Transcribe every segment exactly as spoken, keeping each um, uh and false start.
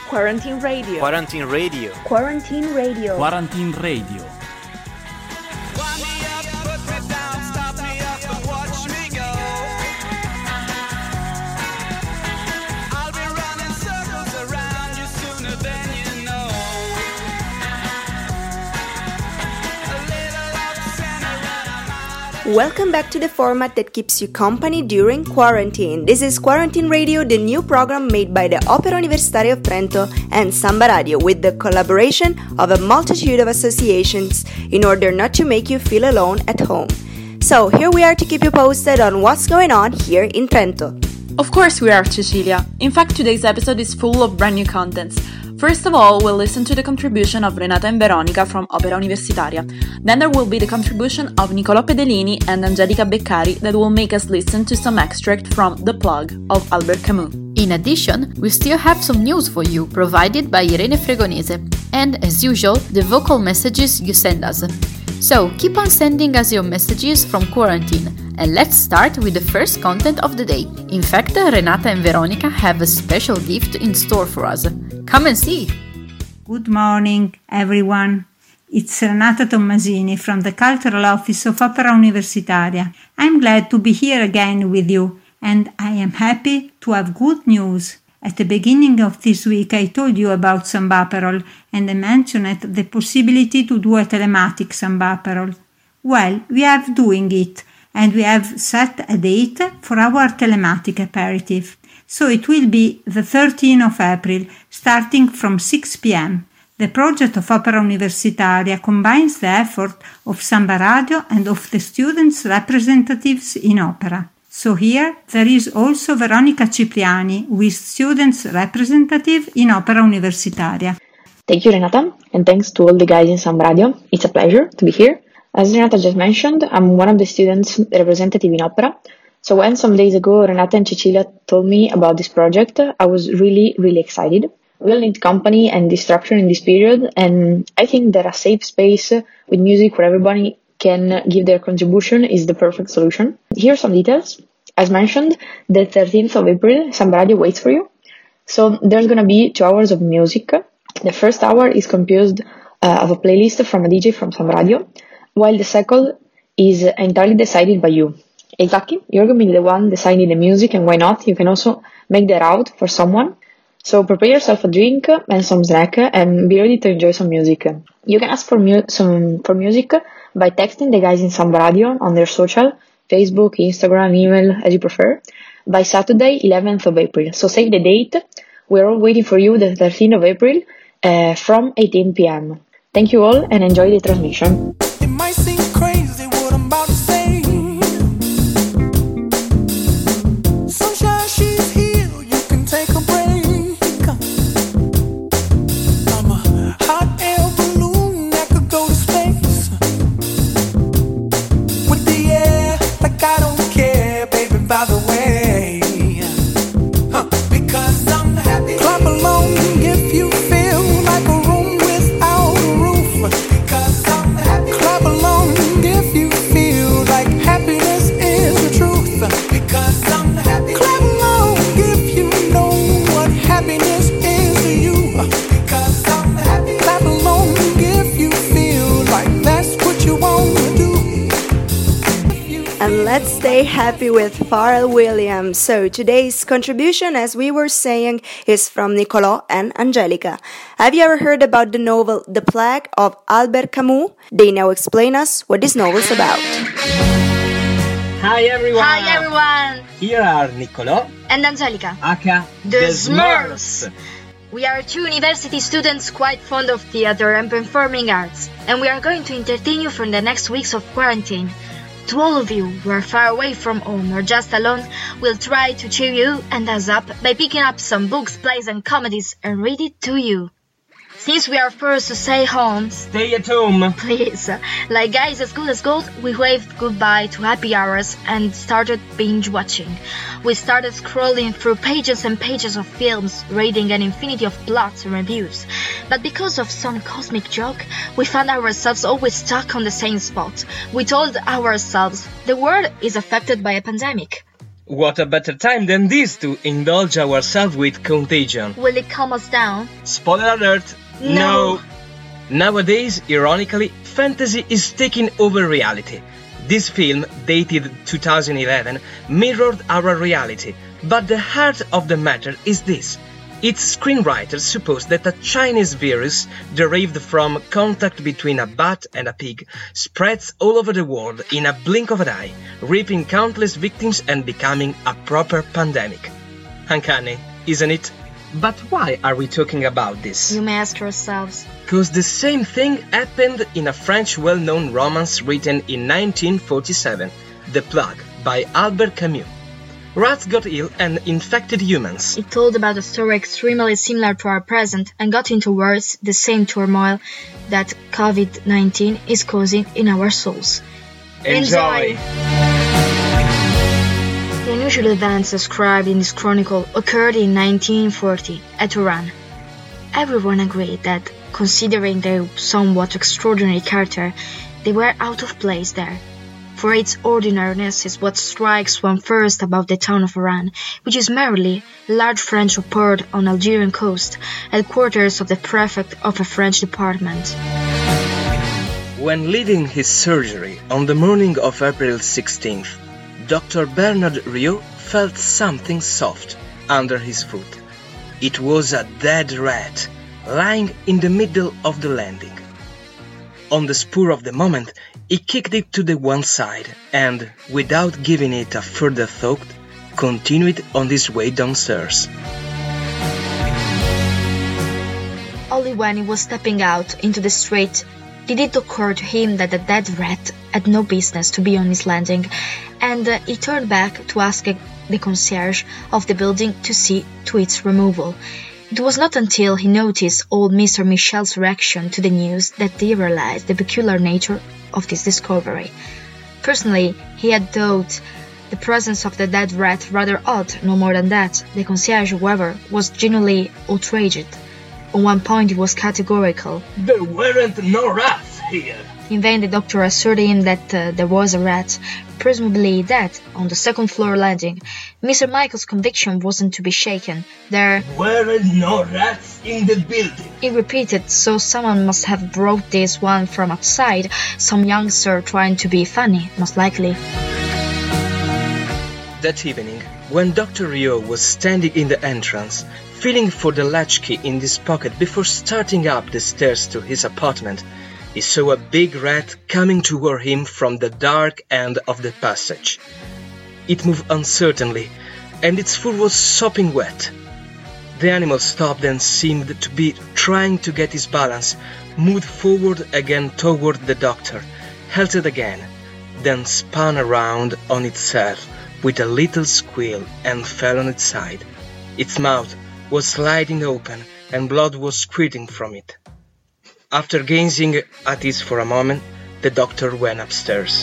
Quarantine Radio. Quarantine Radio. Quarantine Radio. Quarantine Radio. Welcome back to the format that keeps you company during quarantine. This is Quarantine Radio, the new program made by the Opera Universitaria of Trento and Samba Radio with the collaboration of a multitude of associations in order not to make you feel alone at home. So here we are to keep you posted on what's going on here in Trento. Of course we are, Cecilia. In fact, today's episode is full of brand new contents. First of all, we'll listen to the contribution of Renata and Veronica from Opera Universitaria. Then there will be the contribution of Nicolò Pedellini and Angelica Beccari that will make us listen to some extract from The Plug of Albert Camus. In addition, we still have some news for you provided by Irene Fregonese and, as usual, the vocal messages you send us. So keep on sending us your messages from quarantine, and let's start with the first content of the day. In fact, Renata and Veronica have a special gift in store for us. Come and see! Good morning, everyone. It's Renata Tommasini from the Cultural Office of Opera Universitaria. I'm glad to be here again with you, and I am happy to have good news. At the beginning of this week I told you about Sambaperol, and I mentioned the possibility to do a telematic Sambaperol. Well, we are doing it, and we have set a date for our telematic aperitif. So it will be the thirteenth of April, starting from six p.m. The project of Opera Universitaria combines the effort of Samba Radio and of the students' representatives in opera. So here there is also Veronica Cipriani, who is students' representative in Opera Universitaria. Thank you, Renata, and thanks to all the guys in Samba Radio. It's a pleasure to be here. As Renata just mentioned, I'm one of the students' representative in Opera. So when some days ago Renata and Cecilia told me about this project, I was really, really excited. We all need company and distraction in this period, and I think that a safe space with music where everybody can give their contribution is the perfect solution. Here are some details. As mentioned, the thirteenth of April, Samba Radio waits for you. So there's gonna be two hours of music. The first hour is composed uh, of a playlist from a D J from Samba Radio, while the second is entirely decided by you. Exactly, you're gonna be the one deciding the music, and why not? You can also make that out for someone. So prepare yourself a drink and some snack, and be ready to enjoy some music. You can ask for mu- some for music by texting the guys in Samba Radio on their social, Facebook, Instagram, email, as you prefer, by Saturday, eleventh of April. So save the date. We're all waiting for you the thirteenth of April uh, from eighteen p.m. Thank you all and enjoy the transmission. It might seem crazy what I'm about to say. Sunshine, she's here, you can take a break. I'm a hot air balloon that could go to space. With the air, like I don't care, baby, by the way. Huh. Because I'm happy. Clap along if you feel like a room without a roof. Because I'm happy. Clap along if you feel like happiness is the truth. Because I'm happy. Clap along if you know what happiness is to you. Because I'm happy. Clap along if you feel like that's what you want to do. And let's stay happy with Pharrell Williams. So today's contribution, as we were saying, is from Nicolò and Angelica. Have you ever heard about the novel The Plug of Albert Camus? They now explain us what this novel is about. Hi everyone! Hi everyone! Here are Nicolò and Angelica, aka the Smurfs. We are two university students quite fond of theater and performing arts, and we are going to entertain you for the next weeks of quarantine. To all of you who are far away from home or just alone, we'll try to cheer you and us up by picking up some books, plays and comedies and read it to you. Since we are forced to stay home, stay at home. Please, like guys as good as gold, we waved goodbye to happy hours and started binge watching. We started scrolling through pages and pages of films, reading an infinity of plots and reviews. But because of some cosmic joke, we found ourselves always stuck on the same spot. We told ourselves, the world is affected by a pandemic. What a better time than this to indulge ourselves with Contagion. Will it calm us down? Spoiler alert! No. Nowadays, ironically, fantasy is taking over reality. This film, dated two thousand eleven, mirrored our reality, but the heart of the matter is this. Its screenwriters suppose that a Chinese virus, derived from contact between a bat and a pig, spreads all over the world in a blink of an eye, reaping countless victims and becoming a proper pandemic. Uncanny, isn't it? But why are we talking about this? You may ask yourselves. Because the same thing happened in a French well-known romance written in nineteen forty-seven, The Plague, by Albert Camus. Rats got ill and infected humans. It told about a story extremely similar to our present and got into words the same turmoil that COVID nineteen is causing in our souls. Enjoy! The unusual events described in this chronicle occurred in nineteen forty at Oran. Everyone agreed that, considering their somewhat extraordinary character, they were out of place there. For its ordinariness is what strikes one first about the town of Oran, which is merely a large French port on Algerian coast, headquarters of the prefect of a French department. When leaving his surgery on the morning of April sixteenth, Doctor Bernard Riot felt something soft under his foot. It was a dead rat, lying in the middle of the landing. On the spur of the moment, he kicked it to the one side and, without giving it a further thought, continued on his way downstairs. Only when he was stepping out into the street did it occur to him that the dead rat had no business to be on his landing, and uh, he turned back to ask uh, the concierge of the building to see to its removal. It was not until he noticed old Mister Michel's reaction to the news that he realized the peculiar nature of this discovery. Personally, he had thought the presence of the dead rat rather odd, no more than that. The concierge, however, was genuinely outraged. On one point he was categorical. There weren't no rats here! In vain the doctor assured him that uh, there was a rat, presumably dead, on the second floor landing. Mister Michael's conviction wasn't to be shaken. There weren't no rats in the building, he repeated, so someone must have brought this one from outside, some youngster trying to be funny, most likely. That evening, when Doctor Riot was standing in the entrance, feeling for the latchkey in his pocket before starting up the stairs to his apartment, he saw a big rat coming toward him from the dark end of the passage. It moved uncertainly, and its fur was sopping wet. The animal stopped and seemed to be trying to get his balance, moved forward again toward the doctor, halted again, then spun around on itself with a little squeal and fell on its side. Its mouth was sliding open and blood was squirting from it. After gazing at it for a moment, the doctor went upstairs.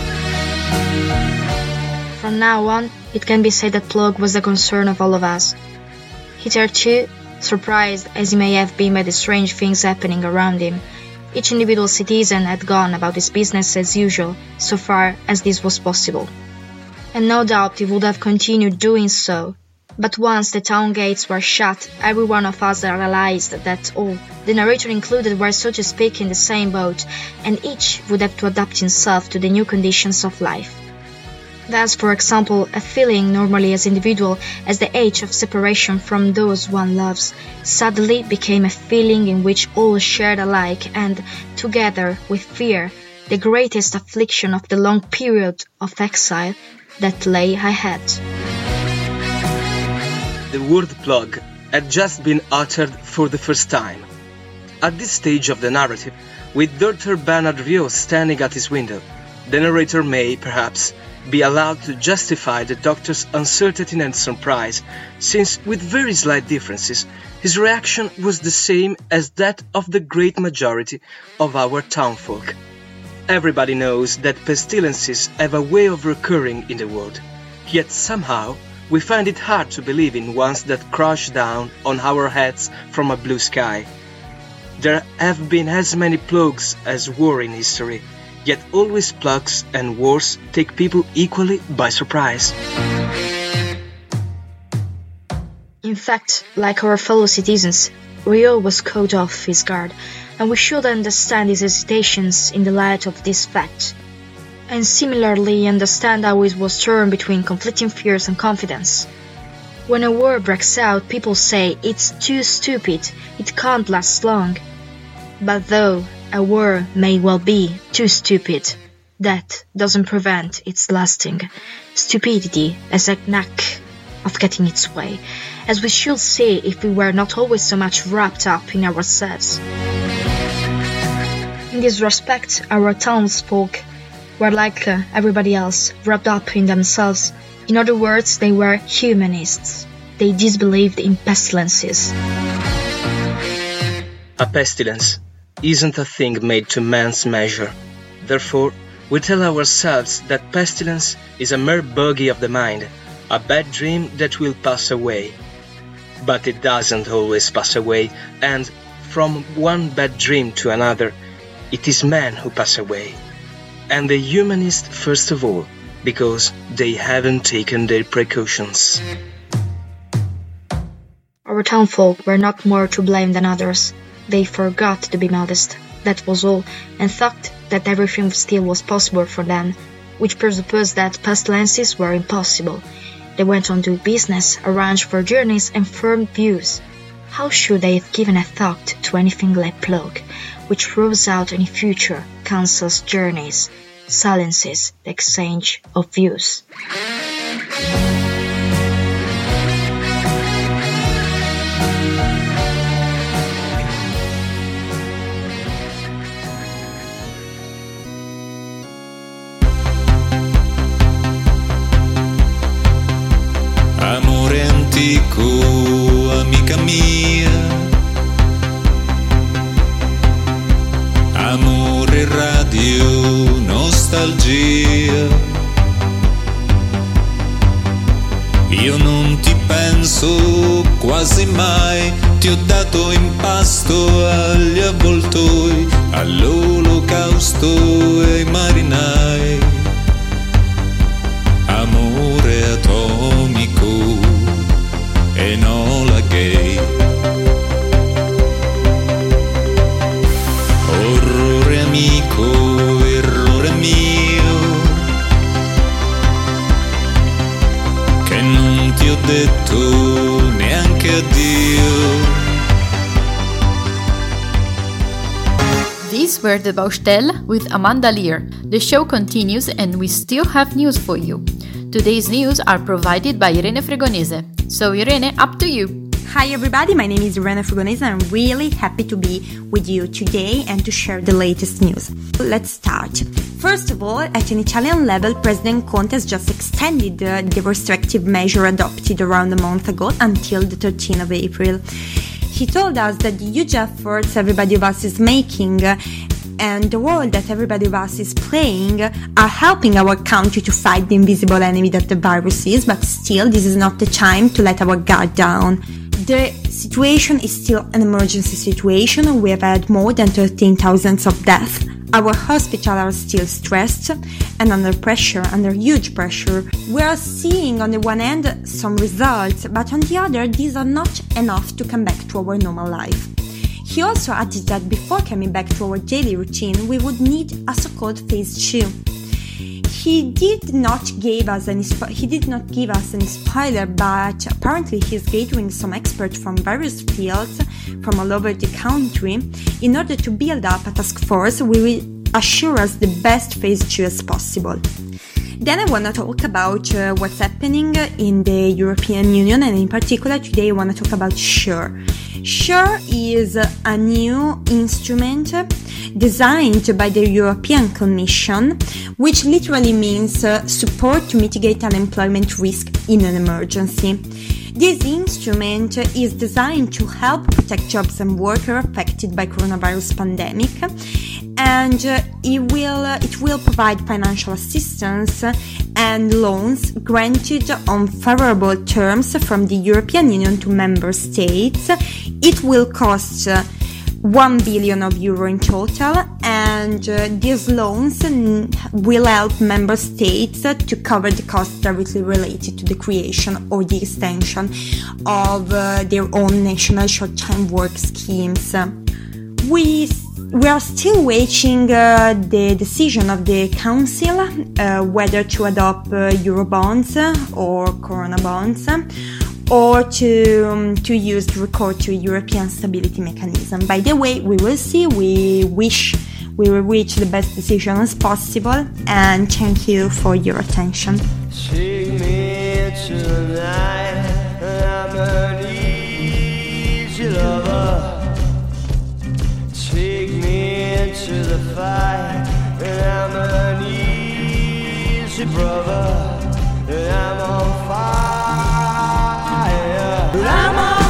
From now on, it can be said that plague was the concern of all of us. Hitherto, surprised as he may have been by the strange things happening around him, each individual citizen had gone about his business as usual, so far as this was possible. And no doubt he would have continued doing so. But once the town gates were shut, every one of us realized that all, the narrator included, were so to speak in the same boat, and each would have to adapt himself to the new conditions of life. Thus, for example, a feeling normally as individual as the age of separation from those one loves, suddenly became a feeling in which all shared alike and, together with fear, the greatest affliction of the long period of exile that lay ahead. The word plague had just been uttered for the first time. At this stage of the narrative, with Doctor Bernard Riot standing at his window, the narrator may, perhaps, be allowed to justify the doctor's uncertainty and surprise, since, with very slight differences, his reaction was the same as that of the great majority of our townfolk. Everybody knows that pestilences have a way of recurring in the world, yet somehow we find it hard to believe in ones that crash down on our heads from a blue sky. There have been as many plagues as war in history, yet always plagues and wars take people equally by surprise. In fact, like our fellow citizens, Rio was caught off his guard, and we should understand his hesitations in the light of this fact. And similarly understand how he was torn between conflicting fears and confidence. When a war breaks out, people say it's too stupid, it can't last long. But though a war may well be too stupid, that doesn't prevent its lasting. Stupidity has a knack of getting its way, as we should see if we were not always so much wrapped up in ourselves. In this respect, our townsfolk were like uh, everybody else, wrapped up in themselves. In other words, they were humanists. They disbelieved in pestilences. A pestilence isn't a thing made to man's measure. Therefore, we tell ourselves that pestilence is a mere bogey of the mind, a bad dream that will pass away. But it doesn't always pass away, and from one bad dream to another, it is men who pass away. And the humanists first of all, because they haven't taken their precautions. Our townfolk were not more to blame than others. They forgot to be modest, that was all, and thought that everything still was possible for them, which presupposed that pestilences were impossible. They went on to business, arranged for journeys, and formed views. How should they have given a thought to anything like plague, which throws out any future, cancels journeys, silences the exchange of views? Amore antico, amica mia, amore radio, nostalgia. Io non ti penso quasi mai, ti ho dato in pasto agli avvoltoi, all'olocausto e ai marinai. Amore atomico, Enola Gay. Orrore amico, errore mio, che non ti ho detto neanche addio. These were the Baustelle with Amanda Lear. The show continues and we still have news for you. Today's news are provided by Irene Fregonese. So Irene, up to you. Hi everybody, my name is Irene Fregonese and I'm really happy to be with you today and to share the latest news. Let's start. First of all, at an Italian level, President Conte has just extended uh, the restrictive measure adopted around a month ago until the thirteenth of April. He told us that the huge efforts everybody of us is making uh, and the role that everybody of us is playing are helping our country to fight the invisible enemy that the virus is, but still this is not the time to let our guard down. The situation is still an emergency situation. We have had more than thirteen thousand of deaths. Our hospitals are still stressed and under pressure, under huge pressure. We are seeing on the one hand some results, but on the other, these are not enough to come back to our normal life. He also added that before coming back to our daily routine, we would need a so-called phase two. He did not give us any he did not give us any spoiler, but apparently he's gathering some experts from various fields from all over the country in order to build up a task force we will assure us the best phase two as possible. Then I want to talk about uh, what's happening in the European Union, and in particular today I want to talk about SURE. SURE is a new instrument designed by the European Commission, which literally means uh, support to mitigate unemployment risk in an emergency. This instrument is designed to help protect jobs and workers affected by coronavirus pandemic, and uh, it will uh, it will provide financial assistance and loans granted on favorable terms from the European Union to member states. It will cost uh, one billion of euro in total, and uh, these loans n- will help member states uh, to cover the costs directly related to the creation or the extension of uh, their own national short-time work schemes. We we are still waiting uh, the decision of the Council uh, whether to adopt uh, Eurobonds or Corona bonds, or to um, to use the recourse to European Stability Mechanism. By the way, we will see. We wish we will reach the best decision as possible, and thank you for your attention. Take me tonight, I'm an easy lover. Take me into the fight, and I'm an easy brother, and I'm on fire. I'm on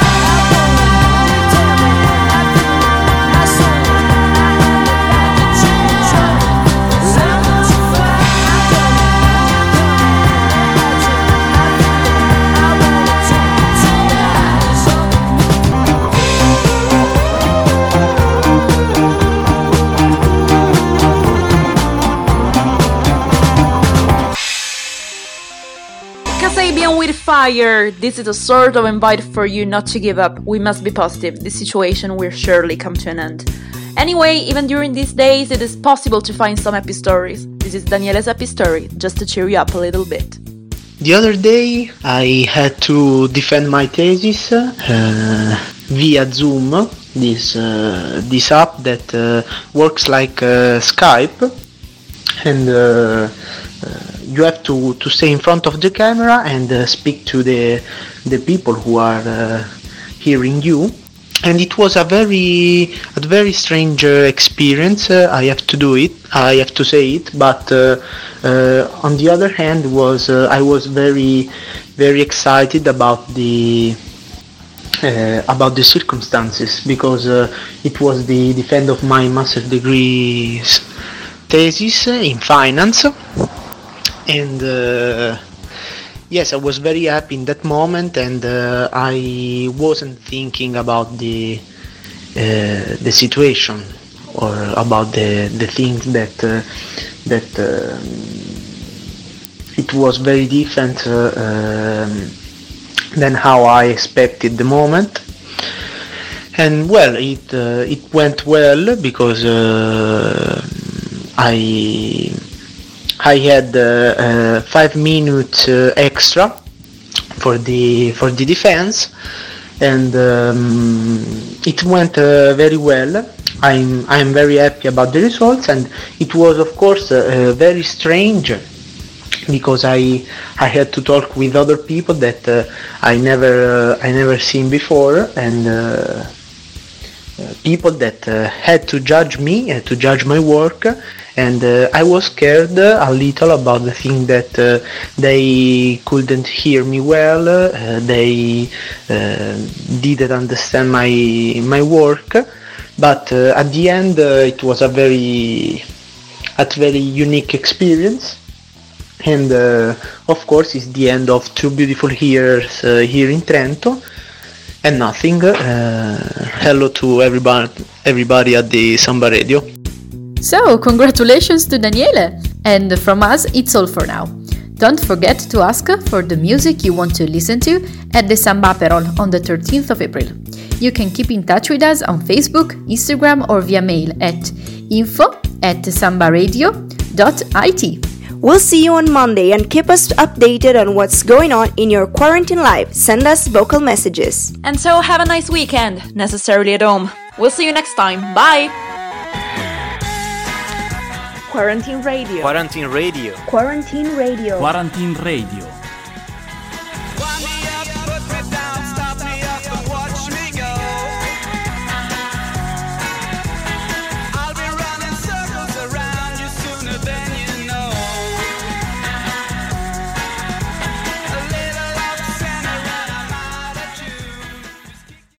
Kasabian with fire! This is a sort of invite for you not to give up. We must be positive. This situation will surely come to an end. Anyway, even during these days, it is possible to find some happy stories. This is Daniele's happy story, just to cheer you up a little bit. The other day I had to defend my thesis uh, via Zoom, this uh, this app that uh, works like uh, Skype, and uh, uh, you have to, to stay in front of the camera and uh, speak to the the people who are uh, hearing you. And it was a very a very strange uh, experience. Uh, I have to do it. I have to say it. But uh, uh, on the other hand, was uh, I was very very excited about the uh, about the circumstances, because uh, it was the defense of my master degree thesis in finance, and. Uh, Yes, I was very happy in that moment, and uh, I wasn't thinking about the uh, the situation or about the the things that uh, that uh, it was very different uh, um, than how I expected the moment. And well, it uh, it went well, because uh, I. I had uh, uh, five minutes uh, extra for the for the defense, and um, it went uh, very well. I'm I'm very happy about the results, and it was of course uh, uh, very strange, because I I had to talk with other people that uh, I never uh, I never seen before, and uh, uh, people that uh, had to judge me, uh, to judge my work. And uh, I was scared uh, a little about the thing that uh, they couldn't hear me well, uh, they uh, didn't understand my my work, but uh, at the end uh, it was a very a very unique experience, and uh, of course it's the end of two beautiful years uh, here in Trento, and nothing. Uh, hello to everybody, everybody at the Samba Radio. So, congratulations to Daniele! And from us, it's all for now. Don't forget to ask for the music you want to listen to at the Samba Aperol on the thirteenth of April. You can keep in touch with us on Facebook, Instagram, or via mail at info at sambaradio dot it. We'll see you on Monday, and keep us updated on what's going on in your quarantine life. Send us vocal messages. And so have a nice weekend, necessarily at home. We'll see you next time. Bye! Quarantine Radio. Quarantine Radio. Quarantine Radio. Quarantine Radio.